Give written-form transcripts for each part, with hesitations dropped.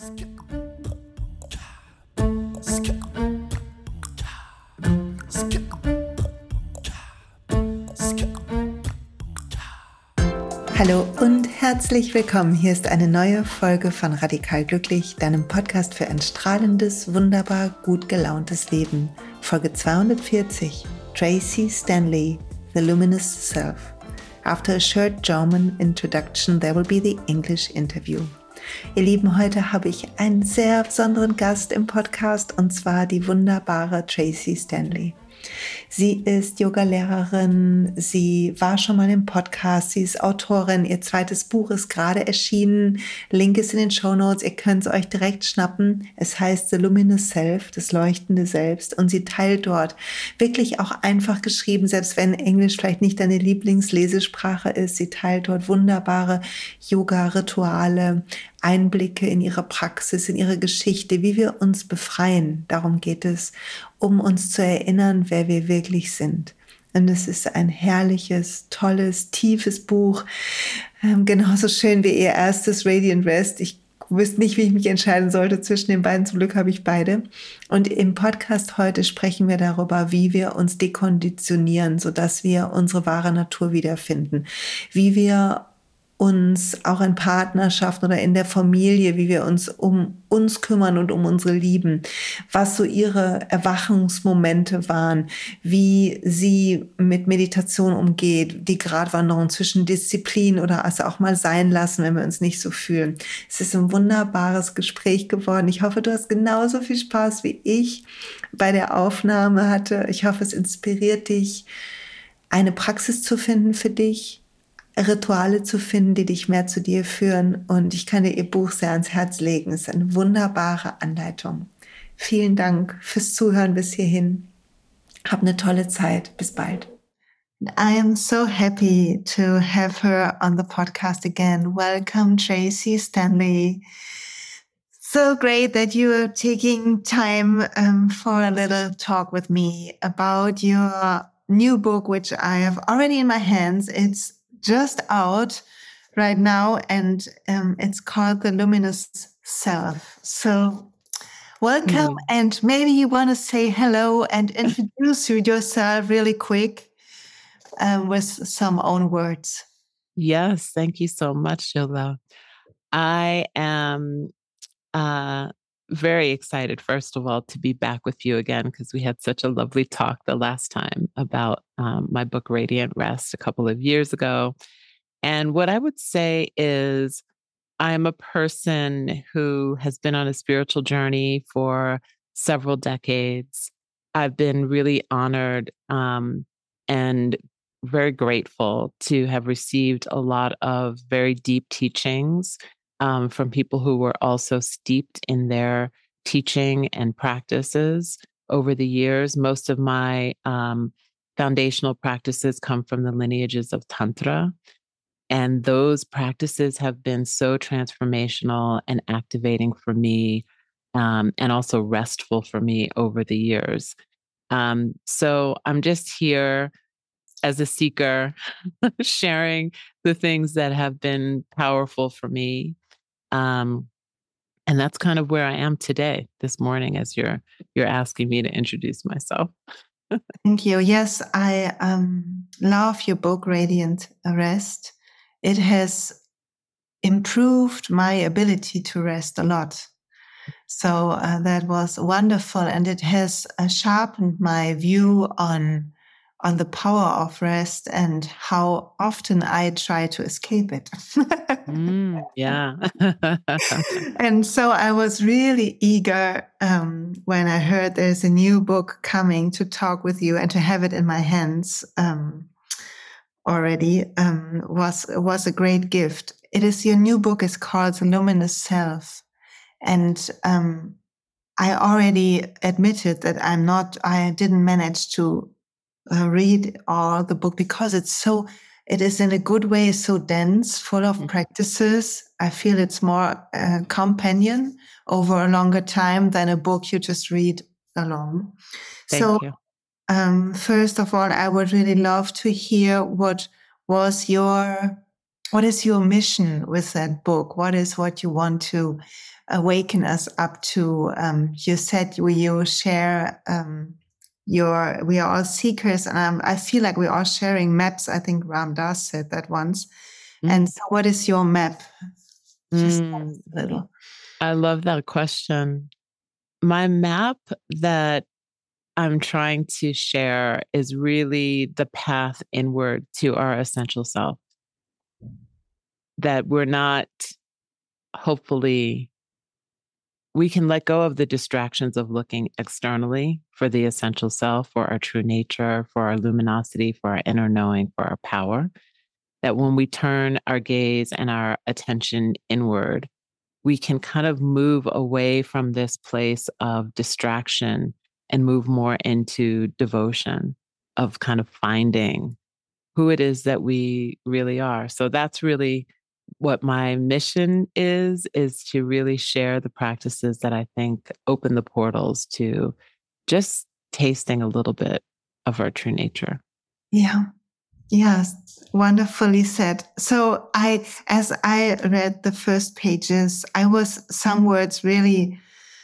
Hallo und herzlich willkommen. Hier ist eine neue Folge von Radikal Glücklich, deinem Podcast für ein strahlendes, wunderbar gut gelauntes Leben. Folge 240. Tracy Stanley, The Luminous Self. After a short German introduction, there will be the English interview. Ihr Lieben, heute habe ich einen sehr besonderen Gast im Podcast und zwar die wunderbare Tracy Stanley. Sie ist Yogalehrerin, sie war schon mal im Podcast, sie ist Autorin, ihr zweites Buch ist gerade erschienen, Link ist in den Shownotes, ihr könnt es euch direkt schnappen. Es heißt The Luminous Self, das leuchtende Selbst, und sie teilt dort wirklich auch einfach geschrieben, selbst wenn Englisch vielleicht nicht deine Lieblingslesesprache ist, sie teilt dort wunderbare Yoga-Rituale, Einblicke in ihre Praxis, in ihre Geschichte, wie wir uns befreien. Darum geht es, um uns zu erinnern, wer wir wirklich sind. Und es ist ein herrliches, tolles, tiefes Buch. Genauso schön wie ihr erstes Radiant Rest. Ich wüsste nicht, wie ich mich entscheiden sollte zwischen den beiden. Zum Glück habe ich beide. Und im Podcast heute sprechen wir darüber, wie wir uns dekonditionieren, sodass wir unsere wahre Natur wiederfinden. Wie wir uns auch in Partnerschaften oder in der Familie, wie wir uns um uns kümmern und um unsere Lieben, was so ihre Erwachungsmomente waren, wie sie mit Meditation umgeht, die Gratwanderung zwischen Disziplin oder also auch mal sein lassen, wenn wir uns nicht so fühlen. Es ist ein wunderbares Gespräch geworden. Ich hoffe, du hast genauso viel Spaß wie ich bei der Aufnahme hatte. Ich hoffe, es inspiriert dich, eine Praxis zu finden für dich, Rituale zu finden, die dich mehr zu dir führen. Und ich kann dir ihr Buch sehr ans Herz legen. Es ist eine wunderbare Anleitung. Vielen Dank fürs Zuhören bis hierhin. Hab eine tolle Zeit. Bis bald. I am so happy to have her on the podcast again. Welcome, Tracy Stanley. So great that you are taking time for a little talk with me about your new book, which I have already in my hands. It's just out right now, and it's called The Luminous Self. So welcome, and maybe you want to say hello and introduce yourself really quick with some own words. Yes, thank you so much, Yola. I am very excited, first of all, to be back with you again, because we had such a lovely talk the last time about my book, Radiant Rest, a couple of years ago. And what I would say is I'm a person who has been on a spiritual journey for several decades. I've been really honored and very grateful to have received a lot of very deep teachings from people who were also steeped in their teaching and practices over the years. Most of my foundational practices come from the lineages of Tantra. And those practices have been so transformational and activating for me, and also restful for me over the years. So I'm just here as a seeker, sharing the things that have been powerful for me. And that's kind of where I am today, this morning, as you're asking me to introduce myself. Thank you. Yes, I love your book, Radiant Rest. It has improved my ability to rest a lot. So that was wonderful. And it has sharpened my view on the power of rest and how often I try to escape it. Yeah. And so I was really eager when I heard there's a new book coming to talk with you and to have it in my hands already was a great gift. It is your new book is called The Luminous Self. And I already admitted that I didn't manage to read all the book because it is in a good way so dense, full of practices. I feel it's more a companion over a longer time than a book you just read alone. Thank you. First of all, I would really love to hear what was your What is your mission with that book? What is what you want to awaken us up to? You said you share we are all seekers, and I feel like we're all sharing maps. I think Ram Dass said that once. And so what is your map? Just a little. I love that question. My map that I'm trying to share is really the path inward to our essential self. That we're not, hopefully, we can let go of the distractions of looking externally for the essential self, for our true nature, for our luminosity, for our inner knowing, for our power. That when we turn our gaze and our attention inward, we can kind of move away from this place of distraction and move more into devotion, of kind of finding who it is that we really are. So that's really what my mission is to really share the practices that I think open the portals to just tasting a little bit of our true nature. Yeah. Yes, wonderfully said. So as I read the first pages, some words really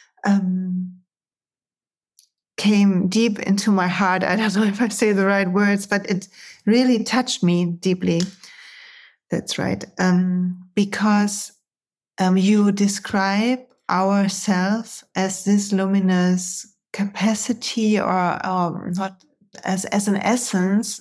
came deep into my heart. I don't know if I say the right words, but it really touched me deeply. That's right. Because you describe ourself as this luminous capacity or not as an essence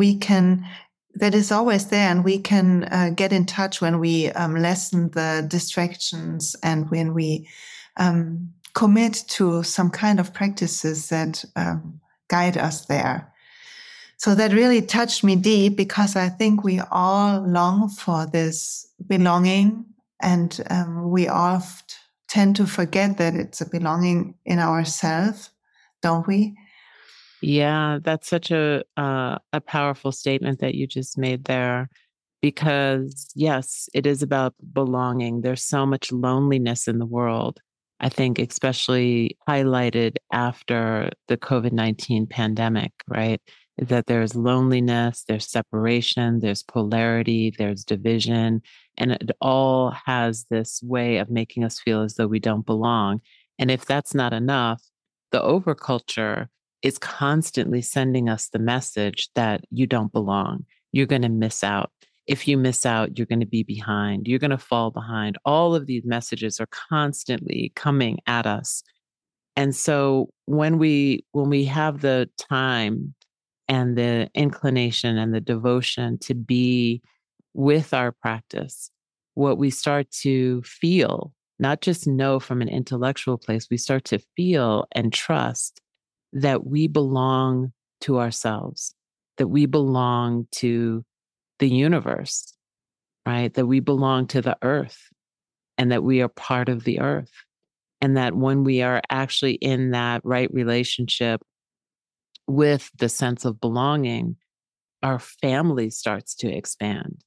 that is always there, and we can get in touch when we lessen the distractions and when we commit to some kind of practices that guide us there. So that really touched me deep, because I think we all long for this belonging, and we oft tend to forget that it's a belonging in ourselves, don't we? Yeah, that's such a powerful statement that you just made there, because yes, it is about belonging. There's so much loneliness in the world. I think especially highlighted after the COVID-19 pandemic, right? That there's loneliness, there's separation, there's polarity, there's division, and it all has this way of making us feel as though we don't belong. And if that's not enough, the overculture is constantly sending us the message that you don't belong. You're going to miss out. If you miss out, you're going to be behind. You're going to fall behind. All of these messages are constantly coming at us. And so when we have the time and the inclination and the devotion to be with our practice, what we start to feel, not just know from an intellectual place, we start to feel and trust that we belong to ourselves, that we belong to the universe, right? That we belong to the earth, and that we are part of the earth. And that when we are actually in that right relationship with the sense of belonging, our family starts to expand.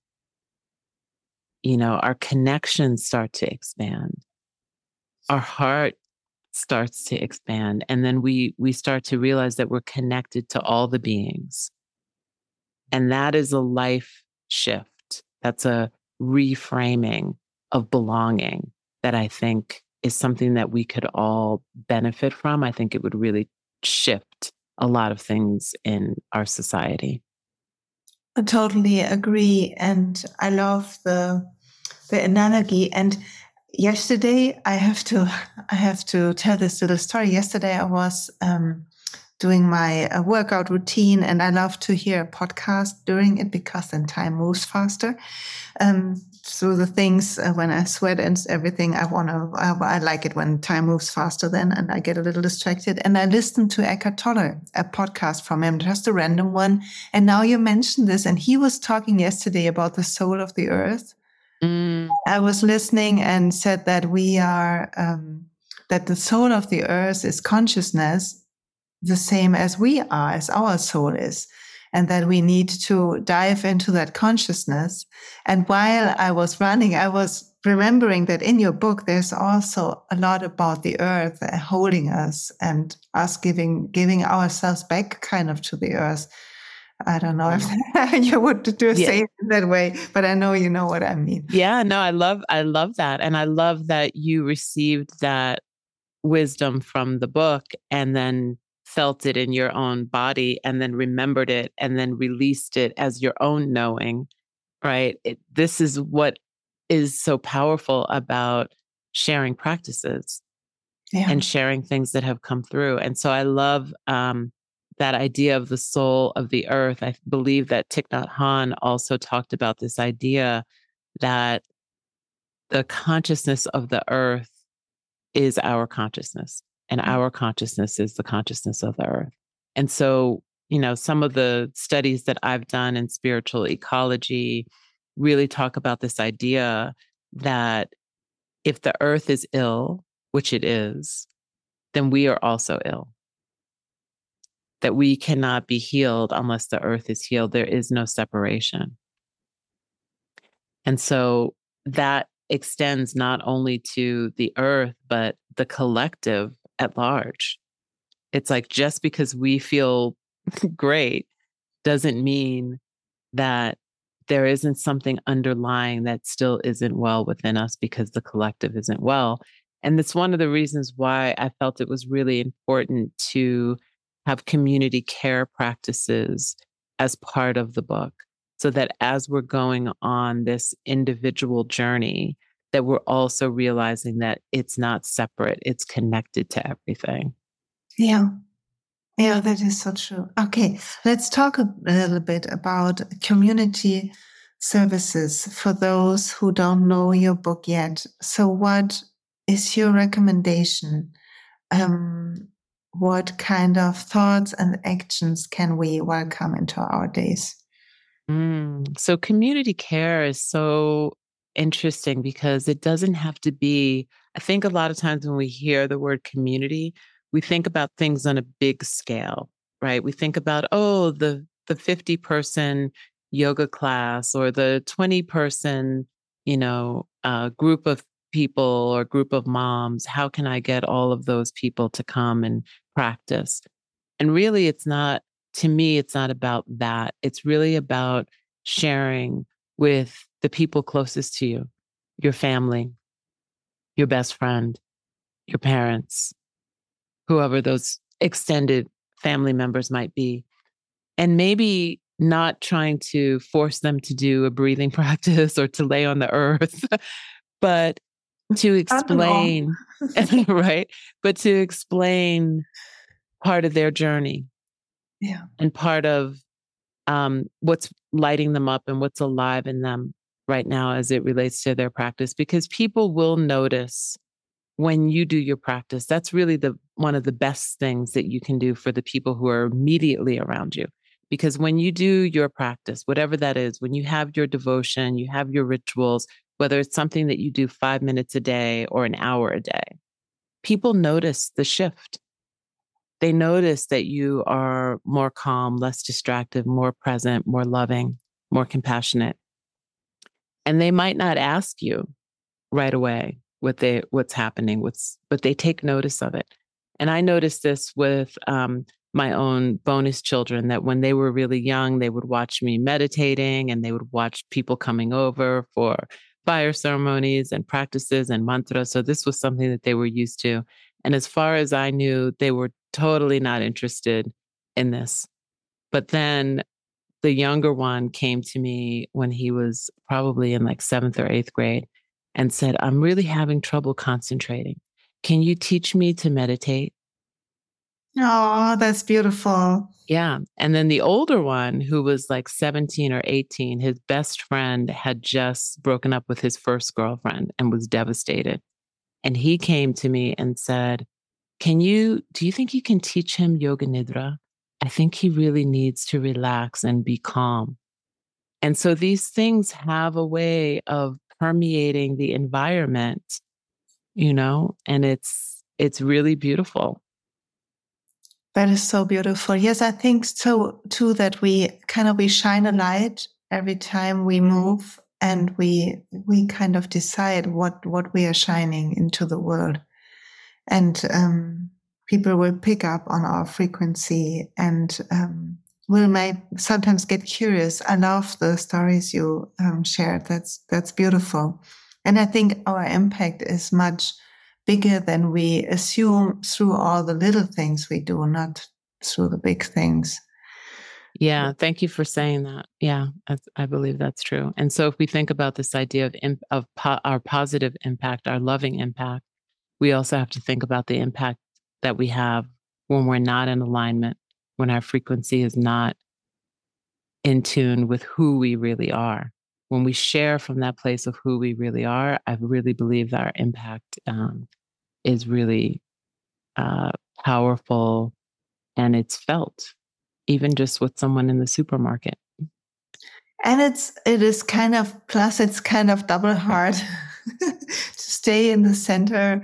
Our connections start to expand. Our heart starts to expand. And then we start to realize that we're connected to all the beings. And that is a life shift. That's a reframing of belonging that I think is something that we could all benefit from. I think it would really shift a lot of things in our society. I totally agree. And I love the analogy. And yesterday, I have to tell this little story. Yesterday, I was doing my workout routine, and I love to hear a podcast during it, because then time moves faster. So the things when I sweat and everything, I like it when time moves faster then, and I get a little distracted. And I listened to Eckhart Tolle, a podcast from him, just a random one. And now you mentioned this, and he was talking yesterday about the soul of the earth. I was listening and said that we are, that the soul of the earth is consciousness, the same as we are, as our soul is, and that we need to dive into that consciousness. And while I was running, I was remembering that in your book, there's also a lot about the earth holding us, and us giving ourselves back kind of to the earth. I don't know if you would say it that way, but I know you know what I mean. Yeah, no, I love that. And I love that you received that wisdom from the book and then felt it in your own body and then remembered it and then released it as your own knowing, right? This is what is so powerful about sharing practices and sharing things that have come through. And so I love that idea of the soul of the earth. I believe that Thich Nhat Hanh also talked about this idea that the consciousness of the earth is our consciousness, and our consciousness is the consciousness of the earth. And so, some of the studies that I've done in spiritual ecology really talk about this idea that if the earth is ill, which it is, then we are also ill. That we cannot be healed unless the earth is healed. There is no separation. And so that extends not only to the earth, but the collective at large. It's like just because we feel great doesn't mean that there isn't something underlying that still isn't well within us because the collective isn't well. And it's one of the reasons why I felt it was really important to have community care practices as part of the book, so that as we're going on this individual journey, that we're also realizing that it's not separate, it's connected to everything. Yeah. Yeah, that is so true. Okay, let's talk a little bit about community services for those who don't know your book yet. So what is your recommendation? What kind of thoughts and actions can we welcome into our days? So community care is so interesting because it doesn't have to be, I think a lot of times when we hear the word community, we think about things on a big scale, right? We think about, the 50-person yoga class or the 20-person, group of people or group of moms. How can I get all of those people to come and practice? And really, to me, it's not about that. It's really about sharing with the people closest to you, your family, your best friend, your parents, whoever those extended family members might be. And maybe not trying to force them to do a breathing practice or to lay on the earth, but to explain, right? But to explain part of their journey. Yeah. And part of what's lighting them up and what's alive in them right now as it relates to their practice, because people will notice when you do your practice. That's really one of the best things that you can do for the people who are immediately around you. Because when you do your practice, whatever that is, when you have your devotion, you have your rituals, whether it's something that you do 5 minutes a day or an hour a day, people notice the shift. They notice that you are more calm, less distracted, more present, more loving, more compassionate. And they might not ask you right away what's happening, but they take notice of it. And I noticed this with my own bonus children, that when they were really young, they would watch me meditating and they would watch people coming over for fire ceremonies and practices and mantras. So this was something that they were used to. And as far as I knew, they were totally not interested in this. But then the younger one came to me when he was probably in like 7th or 8th grade and said, I'm really having trouble concentrating. Can you teach me to meditate? Oh, that's beautiful. Yeah. And then the older one, who was like 17 or 18, his best friend had just broken up with his first girlfriend and was devastated. And he came to me and said, do you think you can teach him Yoga Nidra? I think he really needs to relax and be calm. And so these things have a way of permeating the environment, and it's really beautiful. That is so beautiful. Yes, I think so too, that we shine a light every time we move, and we kind of decide what we are shining into the world. And people will pick up on our frequency and may sometimes get curious. I love the stories you shared. That's beautiful. And I think our impact is much bigger than we assume through all the little things we do, not through the big things. Yeah, thank you for saying that. Yeah, I believe that's true. And so if we think about this idea of our positive impact, our loving impact, we also have to think about the impact that we have when we're not in alignment, when our frequency is not in tune with who we really are. When we share from that place of who we really are, I really believe that our impact is really powerful, and it's felt, even just with someone in the supermarket. And it is kind of, plus it's kind of double hard to stay in the center.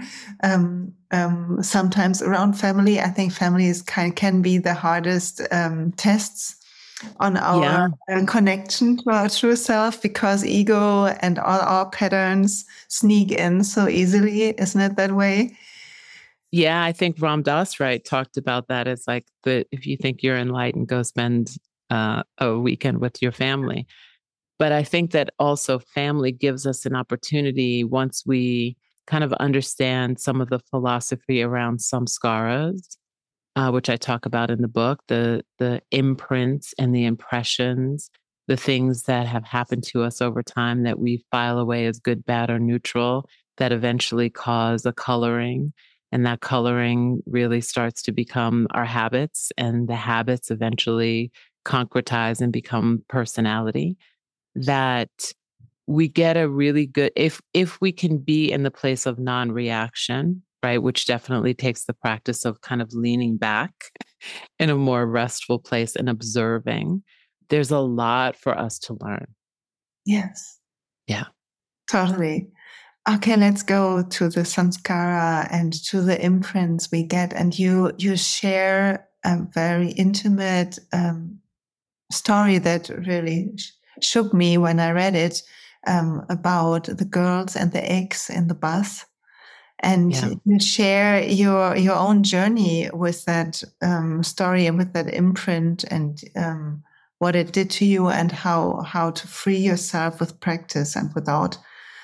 Sometimes around family, I think family can be the hardest tests on our connection to our true self, because ego and all our patterns sneak in so easily. Isn't it that way? Yeah, I think Ram Dass talked about that as like if you think you're enlightened, go spend a weekend with your family. But I think that also family gives us an opportunity, once we kind of understand some of the philosophy around samskaras, which I talk about in the book, the imprints and the impressions, the things that have happened to us over time that we file away as good, bad, or neutral, that eventually cause a coloring. And that coloring really starts to become our habits, and the habits eventually concretize and become personality. That we get a really good, if we can be in the place of non-reaction, right, which definitely takes the practice of kind of leaning back in a more restful place and observing, there's a lot for us to learn. Yes. Yeah. Totally. Okay, let's go to the samskara and to the imprints we get. And you share a very intimate story that really shook me when I read it, about the girls and the eggs in the bus. And you share your own journey with that story and with that imprint, and what it did to you, and how to free yourself with practice and without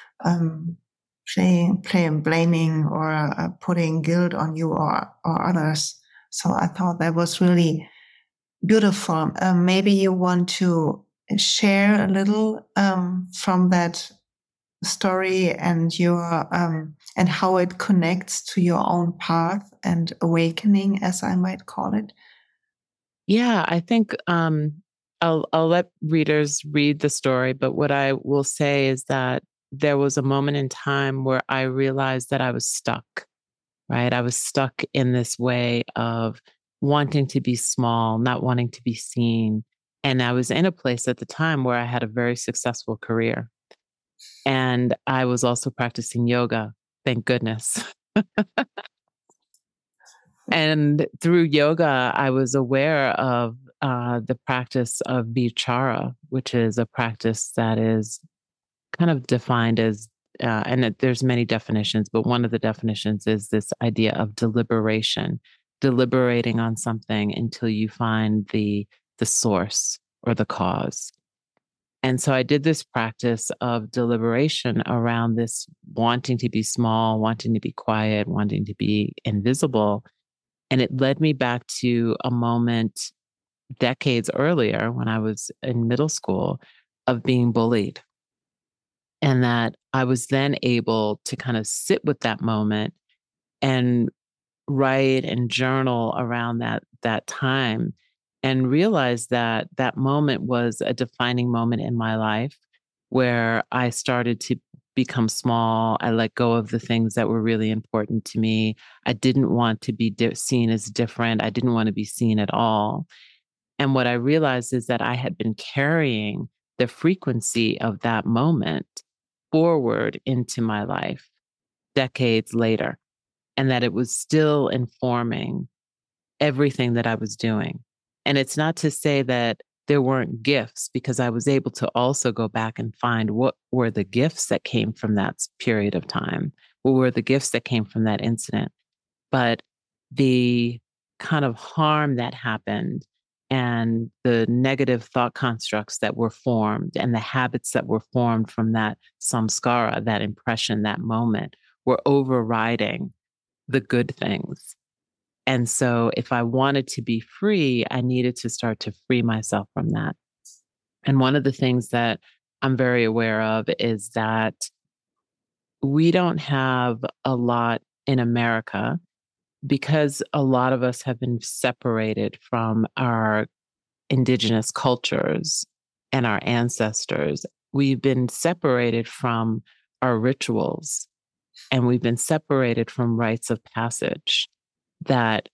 blaming or putting guilt on you or others. So I thought that was really beautiful. Maybe you want to share a little from that story and your and how it connects to your own path and awakening, as I might call it. Yeah, I think I'll let readers read the story, but what I will say is that there was a moment in time where I realized that I was stuck, right? I was stuck in this way of wanting to be small, not wanting to be seen. And I was in a place at the time where I had a very successful career. And I was also practicing yoga, thank goodness. And through yoga, I was aware of the practice of vichara, which is a practice that is kind of defined as, there's many definitions, but one of the definitions is this idea of deliberation, deliberating on something until you find the source or the cause. And so I did this practice of deliberation around this wanting to be small, wanting to be quiet, wanting to be invisible. And it led me back to a moment decades earlier when I was in middle school of being bullied. And that I was then able to kind of sit with that moment and write and journal around that time, and realize that that moment was a defining moment in my life where I started to become small. I let go of the things that were really important to me. I didn't want to be seen as different. I didn't want to be seen at all. And what I realized is that I had been carrying the frequency of that moment forward into my life decades later, and that it was still informing everything that I was doing. And it's not to say that there weren't gifts, because I was able to also go back and find what were the gifts that came from that period of time, what were the gifts that came from that incident. But the kind of harm that happened and the negative thought constructs that were formed and the habits that were formed from that samskara, that impression, that moment, were overriding the good things. And so if I wanted to be free, I needed to start to free myself from that. And one of the things that I'm very aware of is that we don't have a lot in America because a lot of us have been separated from our indigenous cultures and our ancestors. We've been separated from our rituals, and we've been separated from rites of passage that,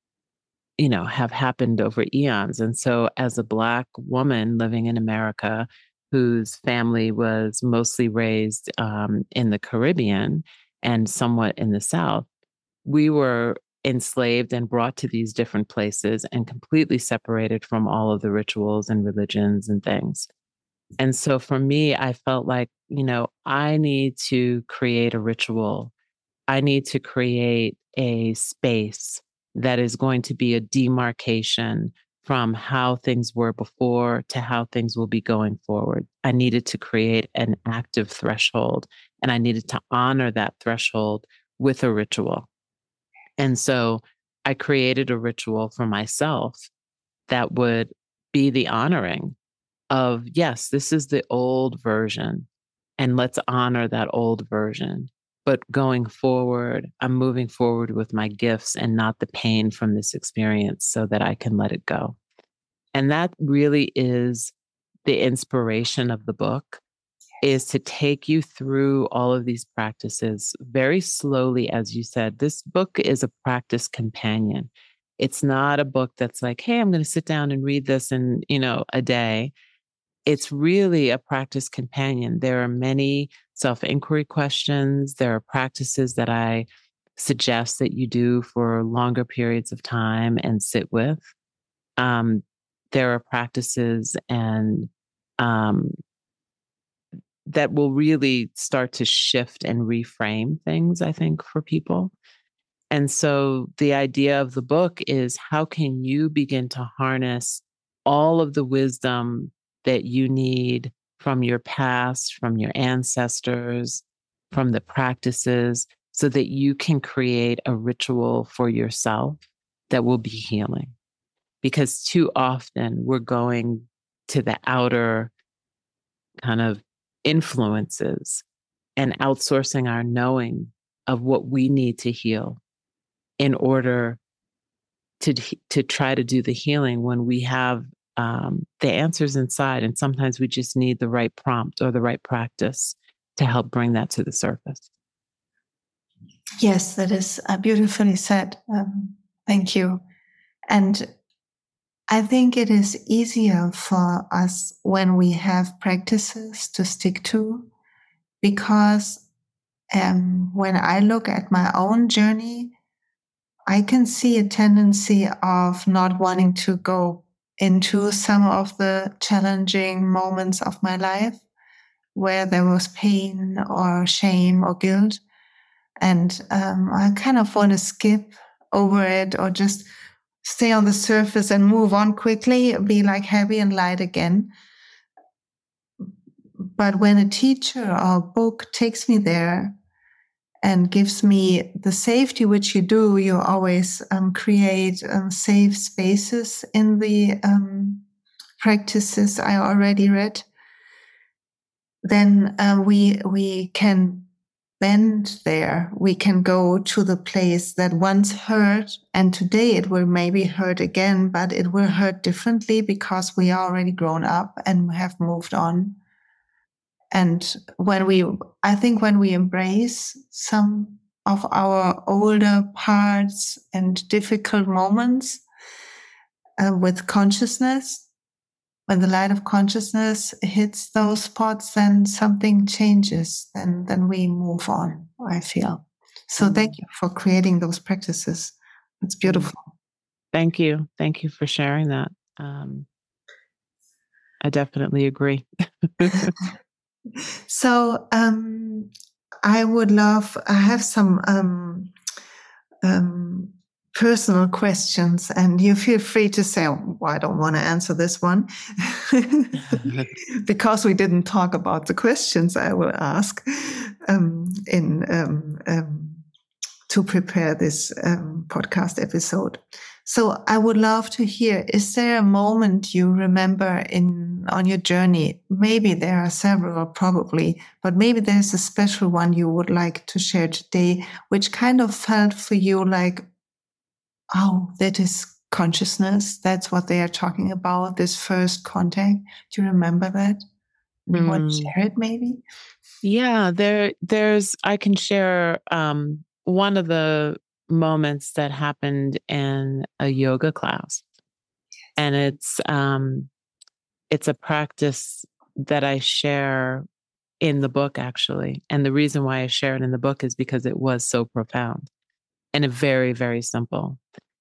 have happened over eons. And so as a Black woman living in America whose family was mostly raised in the Caribbean and somewhat in the South, we were enslaved and brought to these different places and completely separated from all of the rituals and religions and things. And so for me, I felt like, I need to create a ritual. I need to create a space that is going to be a demarcation from how things were before to how things will be going forward. I needed to create an active threshold, and I needed to honor that threshold with a ritual. And so I created a ritual for myself that would be the honoring of, yes, this is the old version, and let's honor that old version. But going forward, I'm moving forward with my gifts and not the pain from this experience so that I can let it go. And that really is the inspiration of the book, is to take you through all of these practices very slowly. As you said, this book is a practice companion. It's not a book that's like, hey, I'm going to sit down and read this in, a day. It's really a practice companion. There are many self-inquiry questions. There are practices that I suggest that you do for longer periods of time and sit with. There are practices and that will really start to shift and reframe things, I think, for people. And so the idea of the book is, how can you begin to harness all of the wisdom that you need from your past, from your ancestors, from the practices, so that you can create a ritual for yourself that will be healing? Because too often we're going to the outer kind of influences and outsourcing our knowing of what we need to heal in order to try to do the healing, when we have the answers inside. And sometimes we just need the right prompt or the right practice to help bring that to the surface. Yes, that is beautifully said. Thank you. And I think it is easier for us when we have practices to stick to, because when I look at my own journey, I can see a tendency of not wanting to go into some of the challenging moments of my life where there was pain or shame or guilt. And I kind of want to skip over it, or just stay on the surface and move on quickly, be like happy and light again. But when a teacher or a book takes me there and gives me the safety, which you do, you always create safe spaces in the practices I already read, then we can bend there. We can go to the place that once hurt, and today it will maybe hurt again, but it will hurt differently because we are already grown up and have moved on. And I think when we embrace some of our older parts and difficult moments with consciousness, when the light of consciousness hits those spots, then something changes, then we move on, I feel. So thank you for creating those practices. It's beautiful. Thank you. Thank you for sharing that. I definitely agree. So I have some personal questions, and you feel free to say, oh, well, I don't want to answer this one because we didn't talk about the questions I will ask to prepare this podcast episode. So I would love to hear, is there a moment you remember on your journey? Maybe there are several, probably, but maybe there's a special one you would like to share today, which kind of felt for you like, oh, that is consciousness. That's what they are talking about, this first contact. Do you remember that? You want to share it maybe? Yeah, I can share one of the moments that happened in a yoga class. And it's a practice that I share in the book, actually. And the reason why I share it in the book is because it was so profound and very, very simple.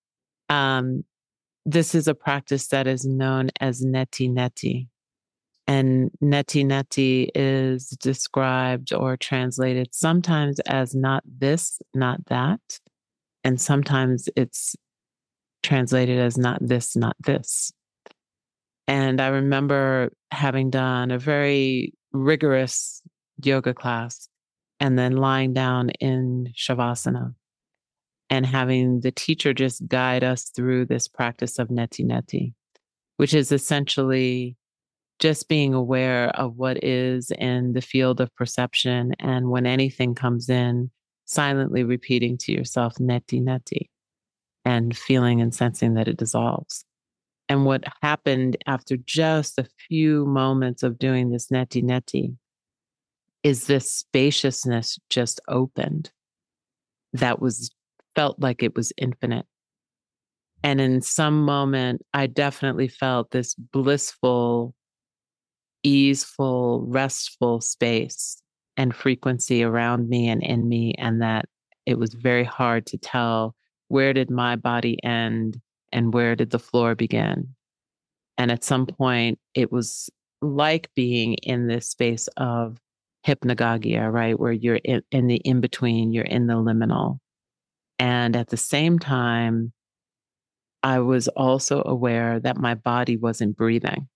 This is a practice that is known as neti neti. And neti neti is described or translated sometimes as not this, not that. And sometimes it's translated as not this, not this. And I remember having done a very rigorous yoga class and then lying down in Shavasana and having the teacher just guide us through this practice of neti neti, which is essentially just being aware of what is in the field of perception. And when anything comes in, silently repeating to yourself, neti neti, and feeling and sensing that it dissolves. And what happened after just a few moments of doing this neti neti is this spaciousness just opened that felt like it was infinite. And in some moment, I definitely felt this blissful, easeful, restful space and frequency around me and in me, and that it was very hard to tell where did my body end and where did the floor begin. And at some point, it was like being in this space of hypnagogia, right? Where you're in the in-between, you're in the liminal. And at the same time, I was also aware that my body wasn't breathing.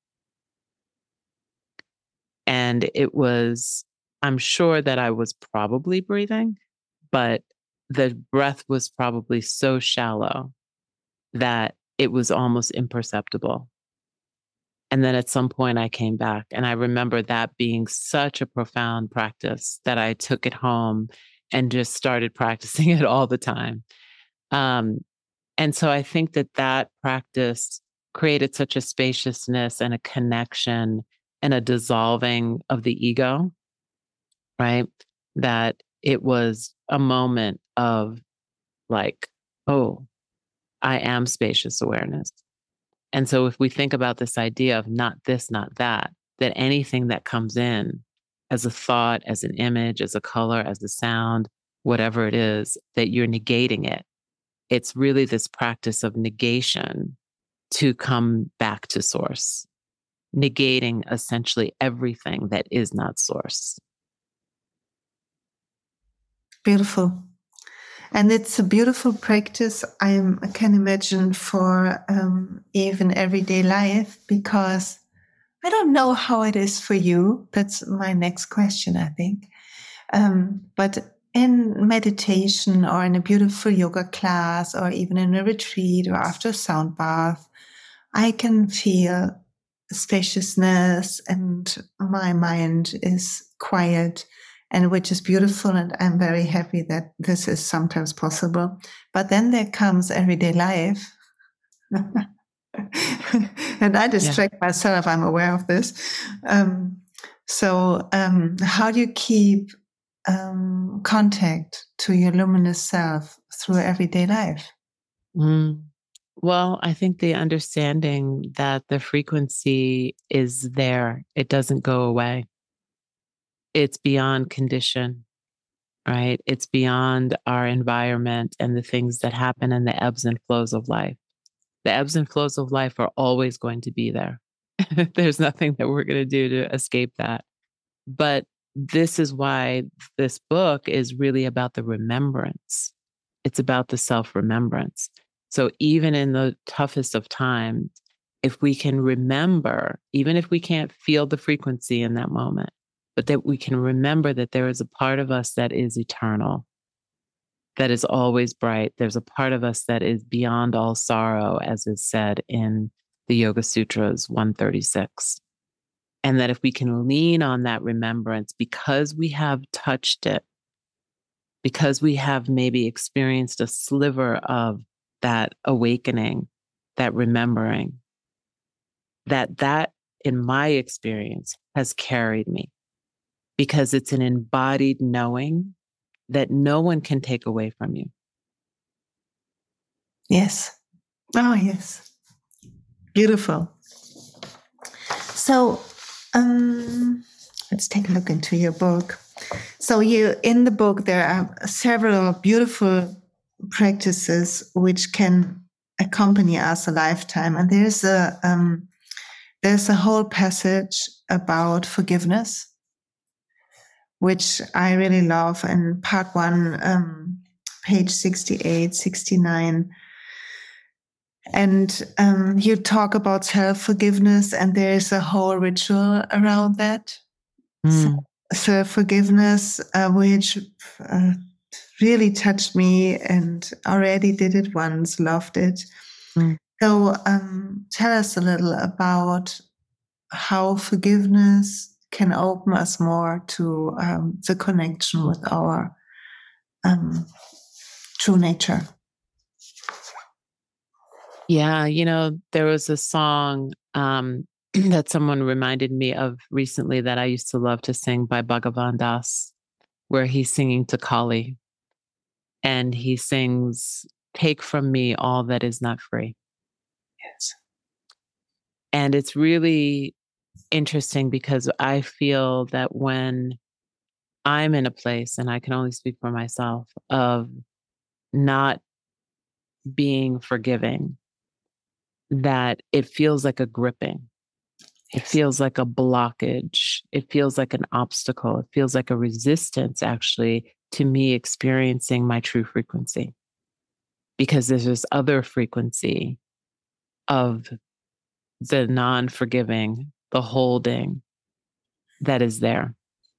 And I'm sure that I was probably breathing, but the breath was probably so shallow that it was almost imperceptible. And then at some point I came back, and I remember that being such a profound practice that I took it home and just started practicing it all the time. And so I think that practice created such a spaciousness and a connection and a dissolving of the ego, right? That it was a moment of like, oh, I am spacious awareness. And so if we think about this idea of not this, not that, that anything that comes in as a thought, as an image, as a color, as a sound, whatever it is, that you're negating it. It's really this practice of negation to come back to source, negating essentially everything that is not source. Beautiful. And it's a beautiful practice, I can imagine, for even everyday life, because I don't know how it is for you. That's my next question, I think. But in meditation or in a beautiful yoga class or even in a retreat or after a sound bath, I can feel spaciousness and my mind is quiet, and which is beautiful. And I'm very happy that this is sometimes possible. But then there comes everyday life. And I distract myself. I'm aware of this. So how do you keep contact to your luminous self through everyday life? Well, I think the understanding that the frequency is there, it doesn't go away. It's beyond condition, right? It's beyond our environment and the things that happen and the ebbs and flows of life. The ebbs and flows of life are always going to be there. There's nothing that we're going to do to escape that. But this is why this book is really about the remembrance. It's about the self-remembrance. So even in the toughest of times, if we can remember, even if we can't feel the frequency in that moment, but that we can remember that there is a part of us that is eternal, that is always bright. There's a part of us that is beyond all sorrow, as is said in the Yoga Sutras 136. And that if we can lean on that remembrance, because we have touched it, because we have maybe experienced a sliver of that awakening, that remembering, that in my experience has carried me, because it's an embodied knowing that no one can take away from you. Yes. Oh, yes. Beautiful. So let's take a look into your book. So in the book, there are several beautiful practices which can accompany us a lifetime. And there's a whole passage about forgiveness, which I really love. And part 1, page 68, 69. And you talk about self-forgiveness, and there's a whole ritual around that. Self-forgiveness, which really touched me, and already did it once, loved it. So tell us a little about how forgiveness can open us more to the connection with our true nature. Yeah, there was a song that someone reminded me of recently that I used to love to sing by Bhagavan Das, where he's singing to Kali. And he sings, "Take from me all that is not free." Yes. And it's really interesting because I feel that when I'm in a place, and I can only speak for myself, of not being forgiving, that it feels like a gripping. It feels like a blockage. It feels like an obstacle. It feels like a resistance, actually, to me experiencing my true frequency. Because there's this other frequency of the non-forgiving, the holding that is there.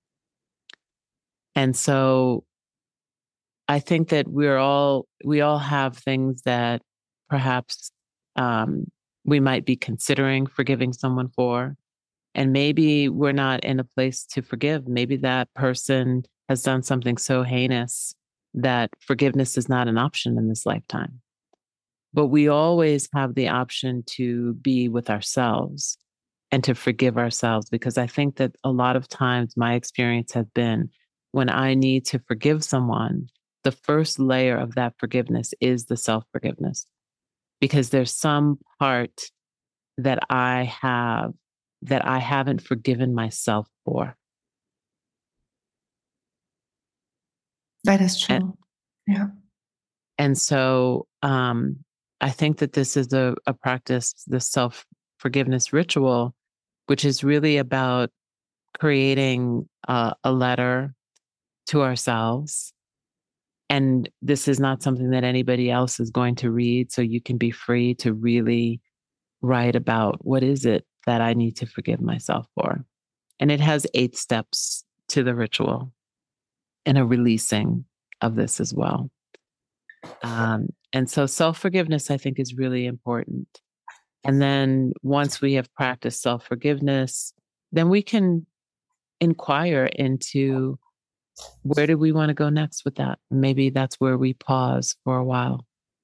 And so I think that we all have things that perhaps we might be considering forgiving someone for. And maybe we're not in a place to forgive. Maybe that person has done something so heinous that forgiveness is not an option in this lifetime. But we always have the option to be with ourselves and to forgive ourselves, because I think that a lot of times my experience has been when I need to forgive someone, the first layer of that forgiveness is the self-forgiveness, because there's some part that I have that I haven't forgiven myself for. That is true. And so I think that this is a practice, the self-forgiveness ritual, which is really about creating a letter to ourselves. And this is not something that anybody else is going to read. So you can be free to really write about, what is it that I need to forgive myself for? And it has 8 steps to the ritual and a releasing of this as well. And so self-forgiveness, I think, is really important. And then once we have practiced self-forgiveness, then we can inquire into, where do we want to go next with that? Maybe that's where we pause for a while.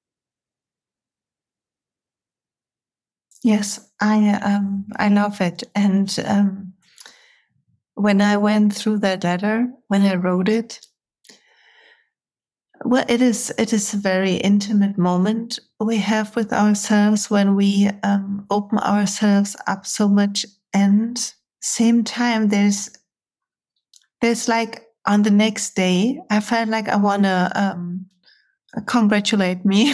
Yes, I love it. And when I went through that letter, when I wrote it, well, it is a very intimate moment we have with ourselves when we open ourselves up so much. And same time, there's like, on the next day, I felt like I want to congratulate me.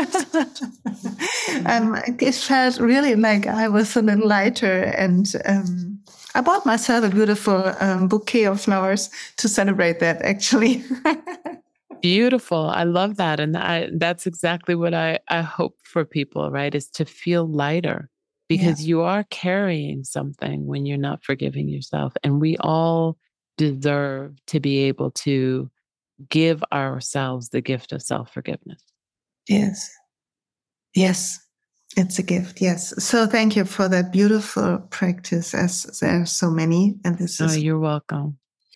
It felt really like I was a little lighter, and I bought myself a beautiful bouquet of flowers to celebrate that, actually. Beautiful. I love that. And that's exactly what I hope for people, right? Is to feel lighter Yeah. because you are carrying something when you're not forgiving yourself. And we all deserve to be able to give ourselves the gift of self-forgiveness. Yes. Yes. It's a gift. Yes. So thank you for that beautiful practice, as there are so many. And this is. You're welcome.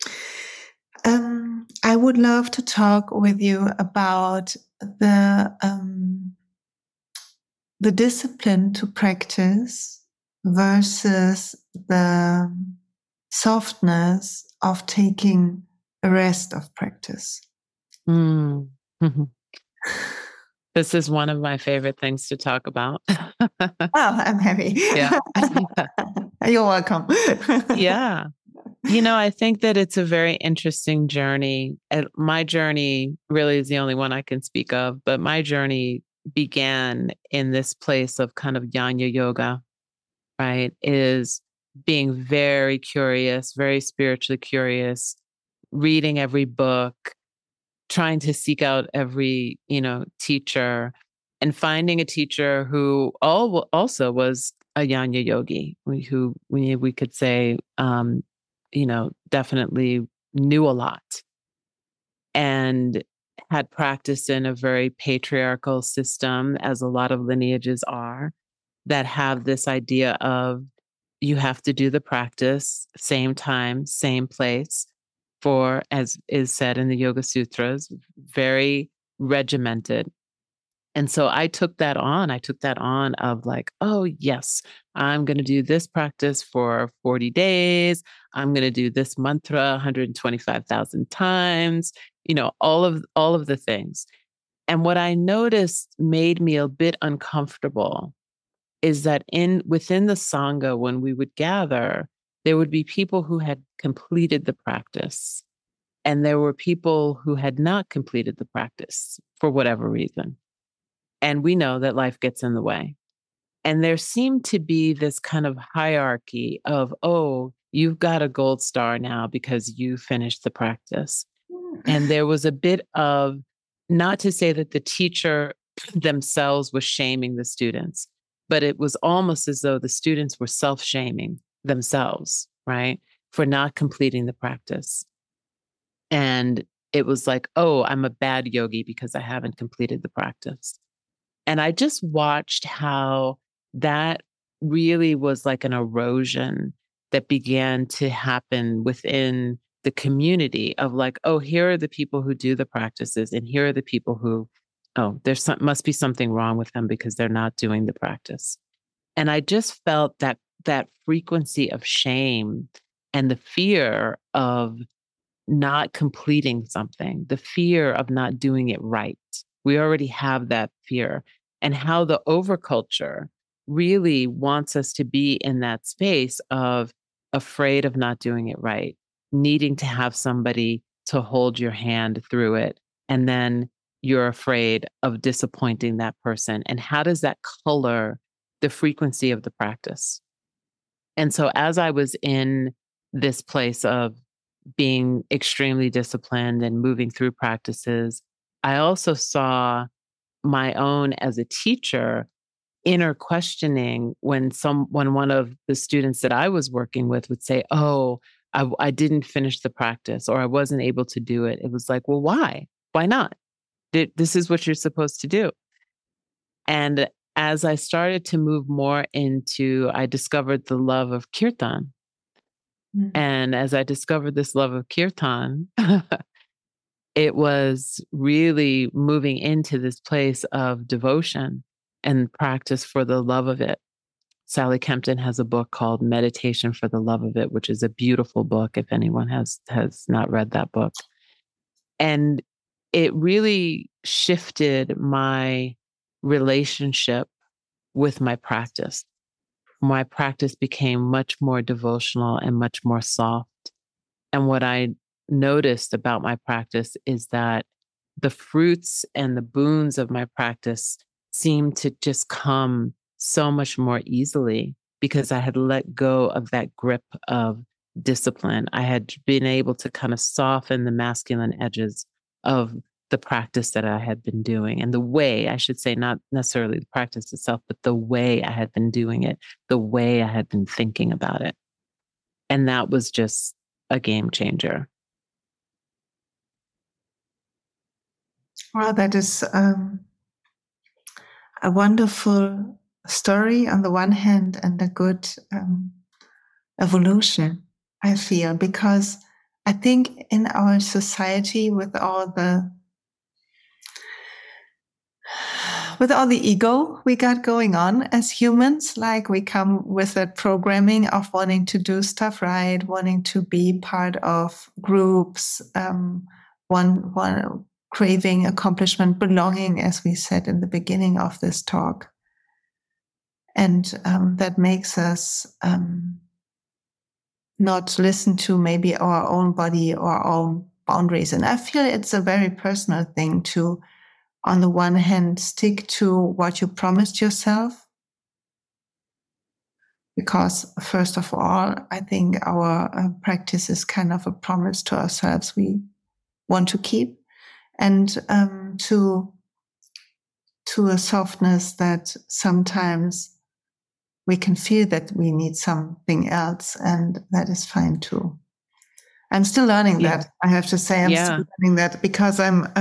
I would love to talk with you about the discipline to practice versus the softness of taking a rest of practice. Mm. This is one of my favorite things to talk about. Oh, I'm happy. Yeah. You're welcome. Yeah. You know, I think that it's a very interesting journey. My journey really is the only one I can speak of, but my journey began in this place of kind of Jnana yoga, right? Is being very curious, very spiritually curious, reading every book, trying to seek out every, teacher, and finding a teacher who also was a Jnana yogi, who we could say, definitely knew a lot and had practiced in a very patriarchal system, as a lot of lineages are, that have this idea of you have to do the practice, same time, same place, for, as is said in the Yoga Sutras, very regimented. And so I took that on. I took that on of like, oh, yes, I'm going to do this practice for 40 days. I'm going to do this mantra 125,000 times, all of the things. And what I noticed made me a bit uncomfortable is that within the Sangha, when we would gather, there would be people who had completed the practice, and there were people who had not completed the practice for whatever reason. And we know that life gets in the way. And there seemed to be this kind of hierarchy of, oh, you've got a gold star now because you finished the practice. And there was a bit of, not to say that the teacher themselves was shaming the students, but it was almost as though the students were self-shaming themselves, right, for not completing the practice. And it was like, oh, I'm a bad yogi because I haven't completed the practice. And I just watched how that really was like an erosion that began to happen within the community of like, oh, here are the people who do the practices, and here are the people who, oh, must be something wrong with them because they're not doing the practice. And I just felt that frequency of shame and the fear of not completing something, the fear of not doing it right. We already have that fear, and how the overculture really wants us to be in that space of afraid of not doing it right, needing to have somebody to hold your hand through it. And then you're afraid of disappointing that person. And how does that color the frequency of the practice? And so as I was in this place of being extremely disciplined and moving through practices, I also saw my own, as a teacher, inner questioning when one of the students that I was working with would say, oh, I didn't finish the practice, or I wasn't able to do it. It was like, well, why? Why not? This is what you're supposed to do. And as I started to move more into, I discovered the love of kirtan. And as I discovered this love of kirtan, it was really moving into this place of devotion and practice for the love of it. Sally Kempton has a book called Meditation for the Love of It, which is a beautiful book if anyone has not read that book. And it really shifted my relationship with my practice. My practice became much more devotional and much more soft. And what I noticed about my practice is that the fruits and the boons of my practice seemed to just come so much more easily because I had let go of that grip of discipline. I had been able to kind of soften the masculine edges of the practice that I had been doing, and the way, I should say, not necessarily the practice itself, but the way I had been doing it, the way I had been thinking about it. And that was just a game changer. Well, that is a wonderful story on the one hand, and a good evolution, I feel, because I think in our society, with all the ego we got going on as humans, like we come with that programming of wanting to do stuff right, wanting to be part of groups, one craving accomplishment, belonging, as we said in the beginning of this talk. And that makes us not listen to maybe our own body or our own boundaries. And I feel it's a very personal thing to, on the one hand, stick to what you promised yourself. Because first of all, I think our practice is kind of a promise to ourselves we want to keep, and to a softness that sometimes we can feel that we need something else, and that is fine too. I'm still learning that. I have to say, I'm still learning that, because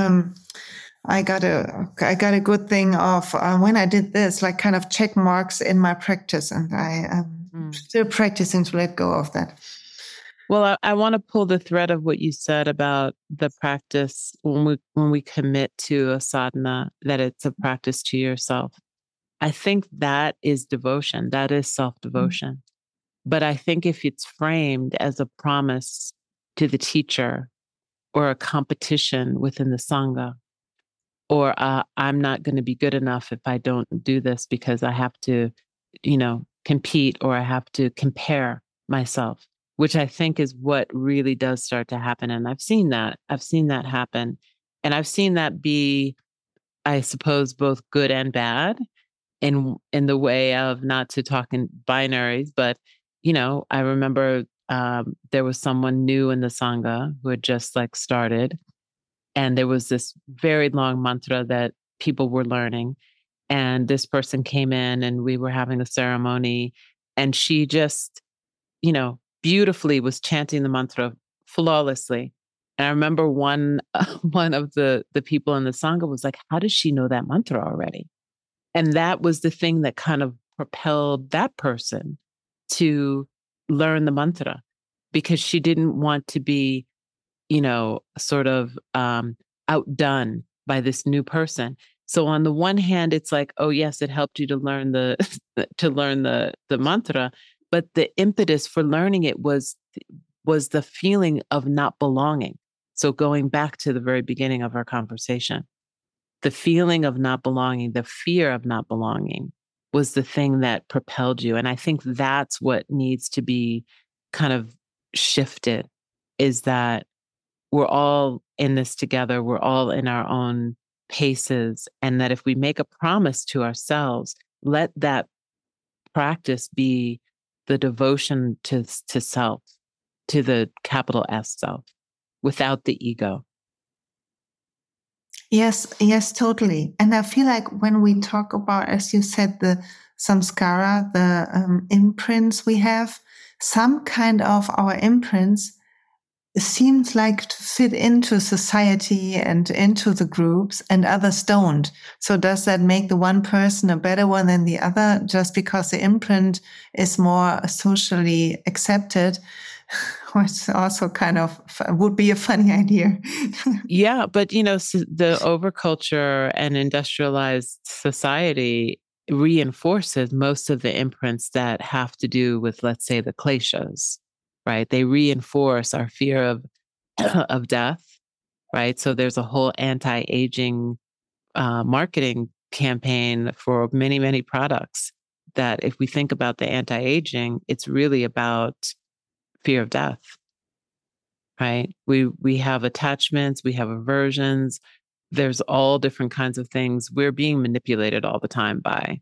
I got a good thing of when I did this, like kind of check marks in my practice, and I am still practicing to let go of that. Well, I want to pull the thread of what you said about the practice when we commit to a sadhana, that it's a practice to yourself. I think that is devotion. That is self-devotion. But I think if it's framed as a promise to the teacher, or a competition within the Sangha, or I'm not going to be good enough if I don't do this because I have to, compete, or I have to compare myself, which I think is what really does start to happen. And I've seen that happen. And I've seen that be, I suppose, both good and bad, in the way of, not to talk in binaries, but, I remember there was someone new in the Sangha who had just started, and there was this very long mantra that people were learning. And this person came in and we were having a ceremony, and she just, beautifully was chanting the mantra flawlessly. And I remember one of the people in the Sangha was like, how does she know that mantra already? And that was the thing that kind of propelled that person to learn the mantra, because she didn't want to be, sort of outdone by this new person. So on the one hand, it's like, oh yes, it helped you to learn the mantra, but the impetus for learning it was the feeling of not belonging. So going back to the very beginning of our conversation, the feeling of not belonging, the fear of not belonging, was the thing that propelled you. And I think that's what needs to be kind of shifted, is that we're all in this together. We're all in our own paces. And that if we make a promise to ourselves, let that practice be the devotion to self, to the capital S self, without the ego. Yes, totally. And I feel like when we talk about, as you said, the samskara, the imprints we have, some kind of our imprints seems like to fit into society and into the groups, and others don't. So does that make the one person a better one than the other just because the imprint is more socially accepted? Which also kind of would be a funny idea. Yeah, but the overculture and industrialized society reinforces most of the imprints that have to do with, let's say, the kleshas, right? They reinforce our fear of death, right? So there's a whole anti-aging marketing campaign for many, many products that, if we think about the anti-aging, it's really about fear of death, right? We have attachments, we have aversions. There's all different kinds of things. We're being manipulated all the time by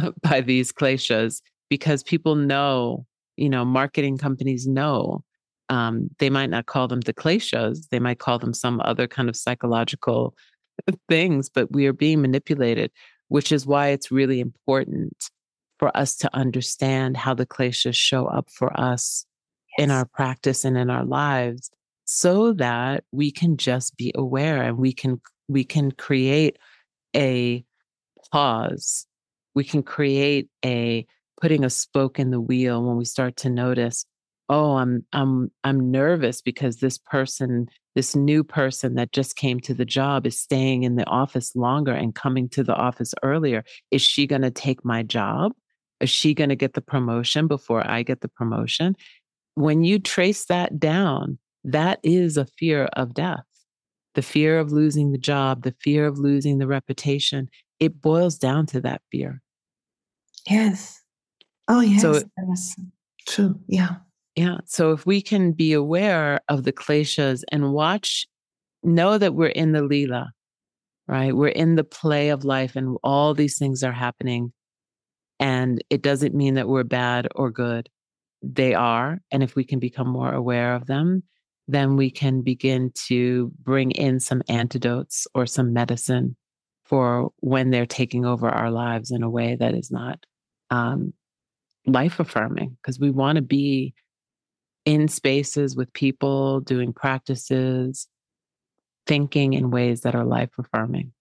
these kleshas, because people know, marketing companies know They might not call them the kleshas. They might call them some other kind of psychological things, but we are being manipulated, which is why it's really important for us to understand how the kleshas show up for us in our practice and in our lives, so that we can just be aware and we can create a pause. We can create a putting a spoke in the wheel when we start to notice, oh, I'm nervous because this new person that just came to the job is staying in the office longer and coming to the office earlier. Is she going to take my job? Is she going to get the promotion before I get the promotion? When you trace that down, that is a fear of death. The fear of losing the job, the fear of losing the reputation, it boils down to that fear. Yes. Oh, yes. So, that's true. Yeah. Yeah. So if we can be aware of the kleshas and know that we're in the lila, right? We're in the play of life and all these things are happening. And it doesn't mean that we're bad or good. They are. And if we can become more aware of them, then we can begin to bring in some antidotes or some medicine for when they're taking over our lives in a way that is not life affirming, because we want to be in spaces with people, doing practices, thinking in ways that are life affirming.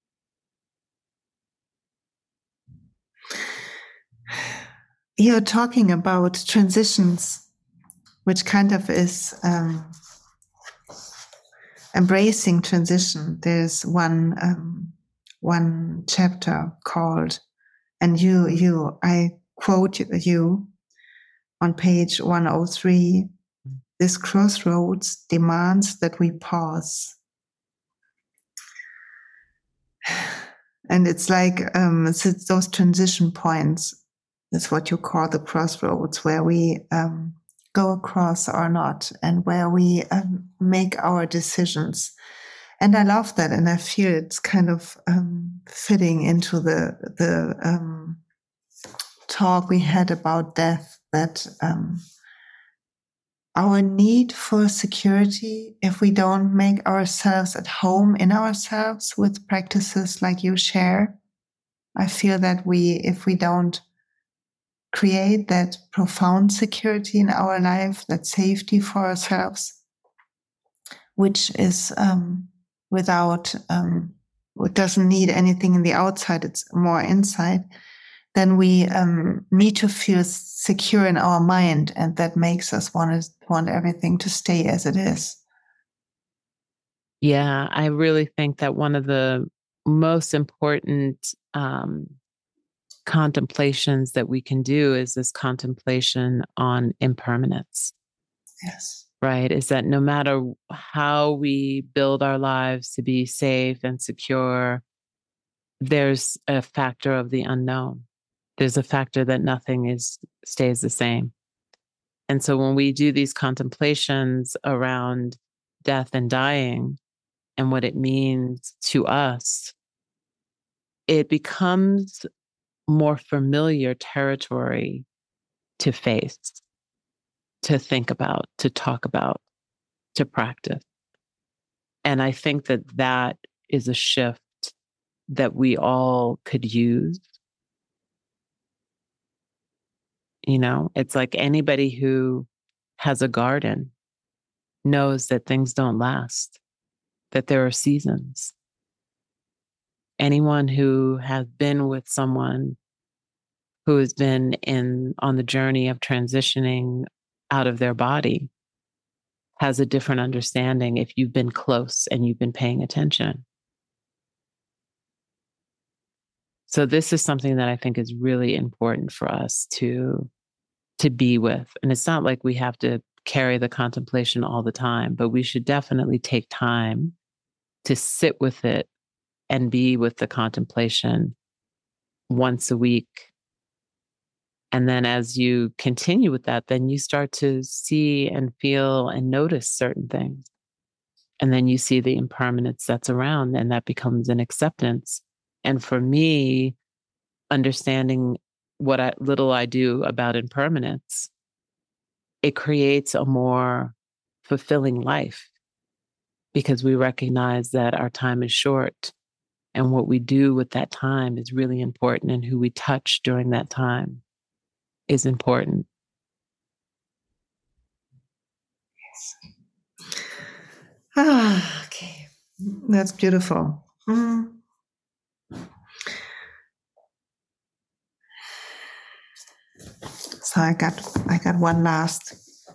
You're talking about transitions, which kind of is embracing transition. There's one chapter called, and I quote you on page 103, this crossroads demands that we pause. And it's like it's those transition points. That's what you call the crossroads, where we go across or not, and where we make our decisions. And I love that, and I feel it's kind of fitting into the talk we had about death, that our need for security, if we don't make ourselves at home in ourselves with practices like you share, I feel that if we don't create that profound security in our life, that safety for ourselves, which is without, it doesn't need anything in the outside, it's more inside, then we need to feel secure in our mind, and that makes us want everything to stay as it is. Yeah, I really think that one of the most important contemplations that we can do is this contemplation on impermanence. Yes. Right? Is that no matter how we build our lives to be safe and secure, there's a factor of the unknown. There's a factor that nothing stays the same. And so when we do these contemplations around death and dying and what it means to us, it becomes more familiar territory to face, to think about, to talk about, to practice. And I think that is a shift that we all could use. You know, it's like anybody who has a garden knows that things don't last, that there are seasons. Anyone who has been with someone who has been on the journey of transitioning out of their body has a different understanding if you've been close and you've been paying attention. So this is something that I think is really important for us to be with. And it's not like we have to carry the contemplation all the time, but we should definitely take time to sit with it and be with the contemplation once a week. And then as you continue with that, then you start to see and feel and notice certain things. And then you see the impermanence that's around, and that becomes an acceptance. And for me, understanding what little I do about impermanence, it creates a more fulfilling life, because we recognize that our time is short and what we do with that time is really important, and who we touch during that time is important. Okay. That's beautiful. So I got one last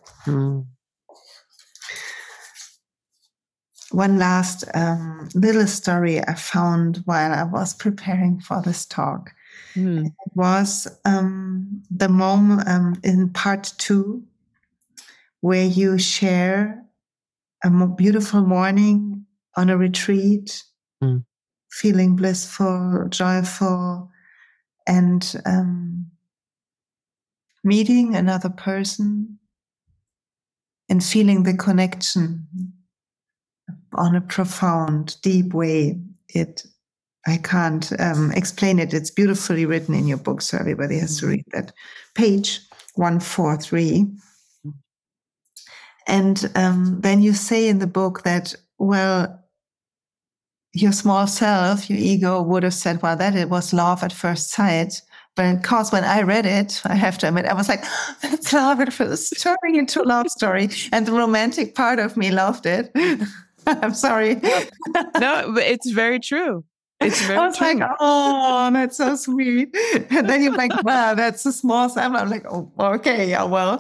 little story I found while I was preparing for this talk. It was the moment in part 2 where you share a beautiful morning on a retreat, feeling blissful, joyful, and meeting another person and feeling the connection on a profound, deep way. I can't explain it. It's beautifully written in your book, so everybody has to read that. Page 143. And then you say in the book that, well, your small self, your ego would have said, well, that it was love at first sight. But of course, when I read it, I have to admit, I was like, that's love at first, turning into a love story. And the romantic part of me loved it. I'm sorry. No, but it's very true. It's very I was true. like, oh, that's so sweet. And then you're like, wow, that's a small sample. I'm like, oh, okay, yeah, well.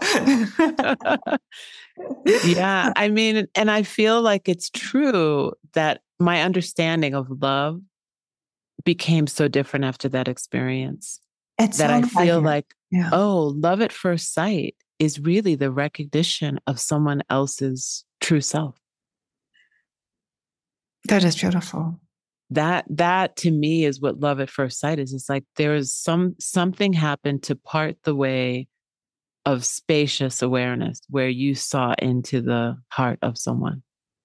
Yeah, I mean, and I feel like it's true that my understanding of love became so different after that experience. That I feel like, oh, love at first sight is really the recognition of someone else's true self. That is beautiful. That to me is what love at first sight is. It's like there is something happened to part the way of spacious awareness where you saw into the heart of someone.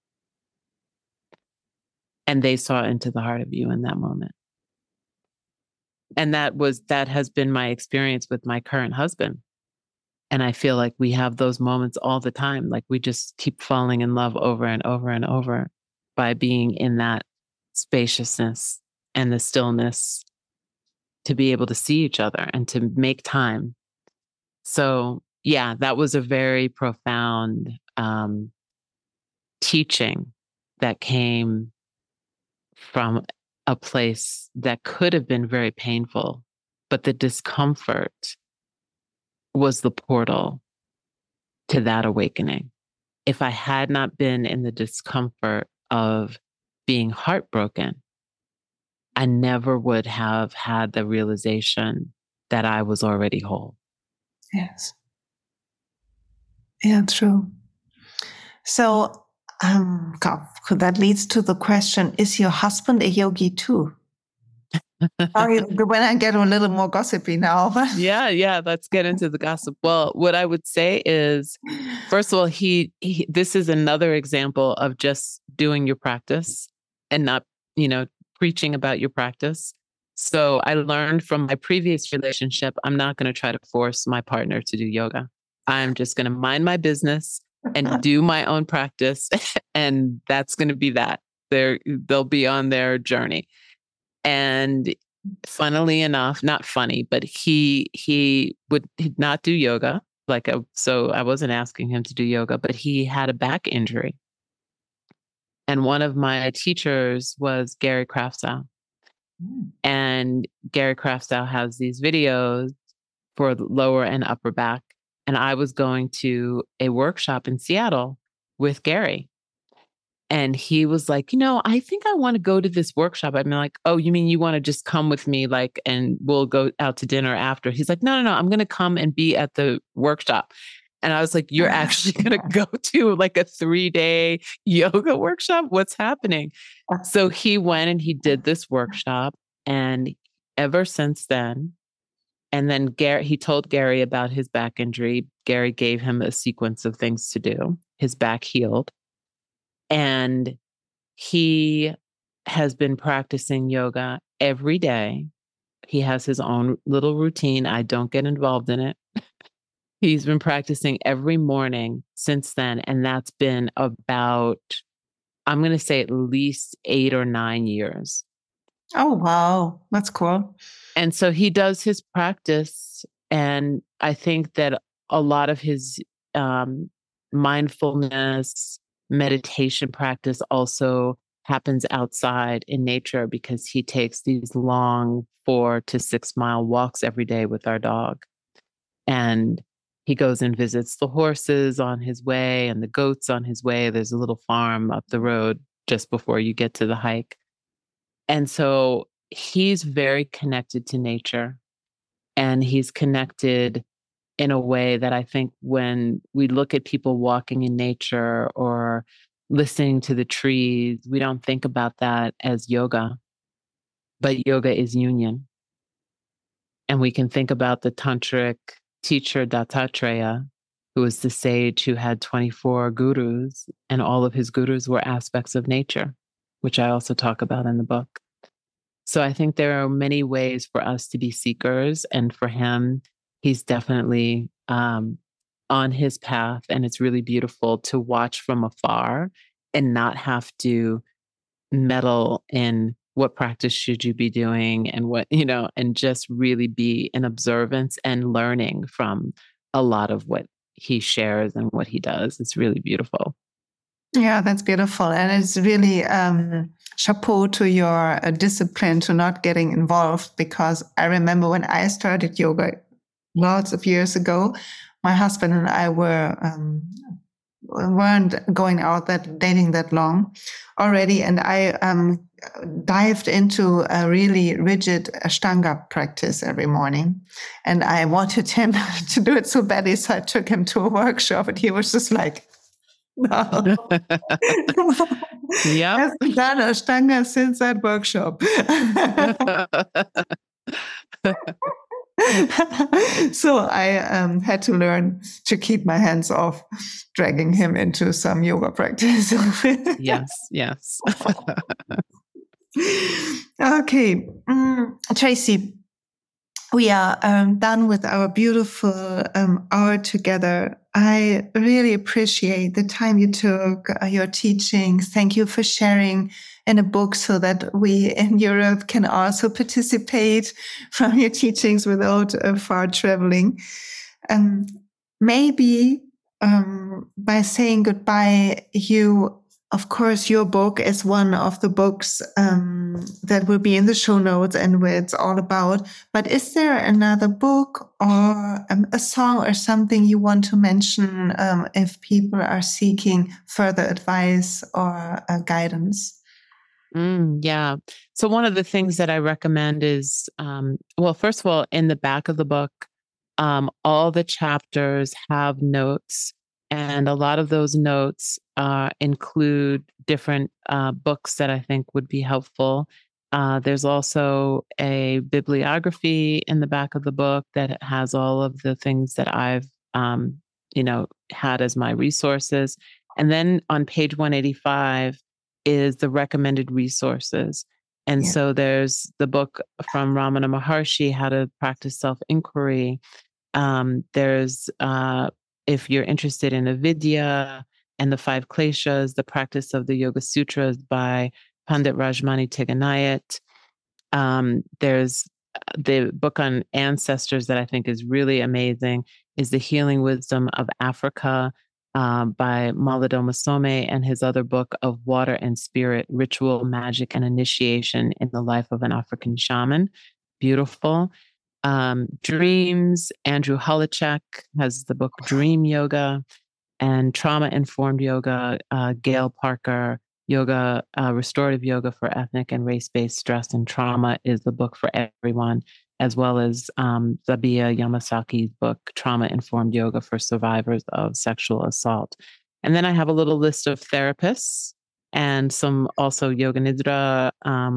And they saw into the heart of you in that moment. And that has been my experience with my current husband. And I feel like we have those moments all the time. Like we just keep falling in love over and over and over by being in that spaciousness and the stillness to be able to see each other and to make time. So yeah, that was a very profound teaching that came from a place that could have been very painful, but the discomfort was the portal to that awakening. If I had not been in the discomfort of being heartbroken, I never would have had the realization that I was already whole. Yes. Yeah, true. So that leads to the question, is your husband a yogi too? Sorry, when I get a little more gossipy now. Yeah, let's get into the gossip. Well, what I would say is, first of all, he this is another example of just doing your practice and not, preaching about your practice. So I learned from my previous relationship, I'm not going to try to force my partner to do yoga. I'm just going to mind my business and do my own practice. And that's going to be that. They'll be on their journey. And funnily enough, not funny, but he would not do yoga. So I wasn't asking him to do yoga, but he had a back injury. And one of my teachers was Gary Kraftsow. And Gary Kraftsow has these videos for the lower and upper back. And I was going to a workshop in Seattle with Gary. And he was like, I think I want to go to this workshop. I'm like, oh, you mean you want to just come with me, and we'll go out to dinner after? He's like, no, I'm going to come and be at the workshop. And I was like, you're actually going to go to a 3-day yoga workshop? What's happening? So he went and he did this workshop. And ever since then, and then he told Gary about his back injury. Gary gave him a sequence of things to do. His back healed. And he has been practicing yoga every day. He has his own little routine. I don't get involved in it. He's been practicing every morning since then. And that's been about, I'm going to say at least 8 or 9 years. Oh, wow. That's cool. And so he does his practice. And I think that a lot of his mindfulness, meditation practice also happens outside in nature, because he takes these long 4 to 6 mile walks every day with our dog. And he goes and visits the horses on his way and the goats on his way. There's a little farm up the road just before you get to the hike. And so he's very connected to nature, and he's connected in a way that I think when we look at people walking in nature or listening to the trees, we don't think about that as yoga, but yoga is union. And we can think about the tantric teacher Dattatreya, who was the sage who had 24 gurus, and all of his gurus were aspects of nature, which I also talk about in the book. So I think there are many ways for us to be seekers. And for him, he's definitely on his path. And it's really beautiful to watch from afar and not have to meddle in what practice should you be doing and what, and just really be in observance and learning from a lot of what he shares and what he does. It's really beautiful. Yeah, that's beautiful. And it's really chapeau to your discipline to not getting involved, because I remember when I started yoga lots of years ago, my husband and I weren't going out dating that long already. And I dived into a really rigid Ashtanga practice every morning. And I wanted him to do it so badly. So I took him to a workshop, and he was just like, no. Yeah. Hasn't done Ashtanga since that workshop. So I had to learn to keep my hands off dragging him into some yoga practice. Yes. Okay. Tracy, we are done with our beautiful hour together. I really appreciate the time you took, your teachings. Thank you for sharing in a book so that we in Europe can also participate from your teachings without far traveling. Maybe by saying goodbye, of course, your book is one of the books that will be in the show notes and where it's all about. But is there another book or a song or something you want to mention if people are seeking further advice or guidance? Yeah. So one of the things that I recommend is, first of all, in the back of the book, all the chapters have notes. And a lot of those notes include different books that I think would be helpful. There's also a bibliography in the back of the book that has all of the things that I've, had as my resources. And then on page 185 is the recommended resources. And so there's the book from Ramana Maharshi, How to Practice Self-Inquiry. There's if you're interested in Avidya and the 5 Kleshas, the practice of the Yoga Sutras by Pandit Rajmani Tiganayat. There's the book on ancestors that I think is really amazing, is The Healing Wisdom of Africa by Malidoma Some, and his other book of Water and Spirit, Ritual, Magic, and Initiation in the Life of an African Shaman. Beautiful. Dreams, Andrew Holicek has the book Dream Yoga, and Trauma-Informed Yoga, Gail Parker, Yoga, Restorative Yoga for Ethnic and Race-Based Stress and Trauma is the book for everyone, as well as Zabiya Yamasaki's book, Trauma-Informed Yoga for Survivors of Sexual Assault. And then I have a little list of therapists and some also Yoga Nidra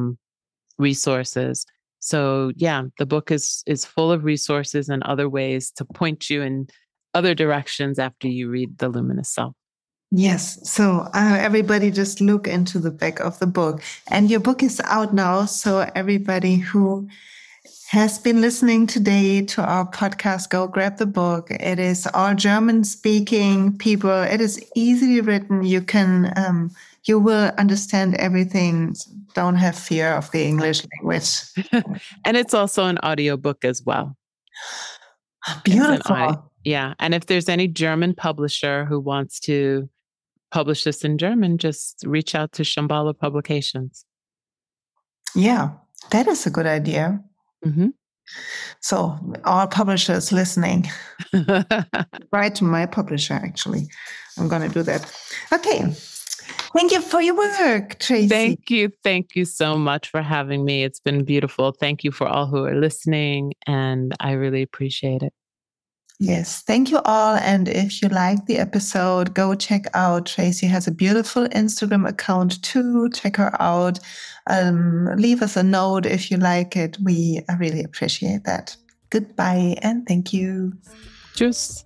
resources. So yeah, the book is full of resources and other ways to point you in other directions after you read The Luminous Self. Yes. So everybody just look into the back of the book. And your book is out now. So everybody who has been listening today to our podcast, go grab the book. It is all German-speaking people. It is easily written. You will understand everything. Don't have fear of the English language. And it's also an audiobook as well. Beautiful. Yeah. And if there's any German publisher who wants to publish this in German, just reach out to Shambhala Publications. Yeah, that is a good idea. Mm-hmm. So all publishers listening, write to my publisher, actually. I'm going to do that. Okay. Thank you for your work, Tracy. Thank you. Thank you so much for having me. It's been beautiful. Thank you for all who are listening, and I really appreciate it. Yes, thank you all. And if you like the episode, go check out. Tracy has a beautiful Instagram account too. Check her out. Leave us a note if you like it. We really appreciate that. Goodbye and thank you. Tschüss.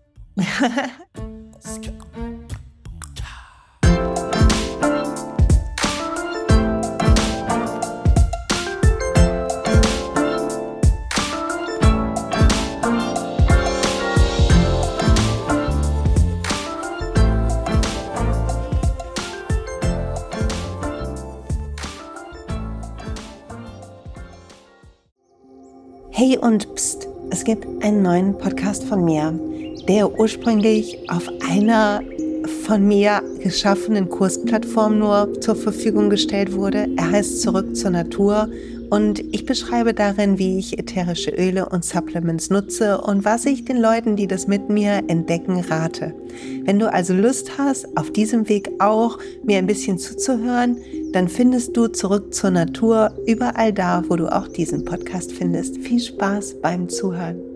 Hey und pst, es gibt einen neuen Podcast von mir, der ursprünglich auf einer von mir geschaffenen Kursplattform nur zur Verfügung gestellt wurde. Er heißt Zurück zur Natur und ich beschreibe darin, wie ich ätherische Öle und Supplements nutze und was ich den Leuten, die das mit mir entdecken, rate. Wenn du also Lust hast, auf diesem Weg auch mir ein bisschen zuzuhören, dann findest du Zurück zur Natur überall da, wo du auch diesen Podcast findest. Viel Spaß beim Zuhören.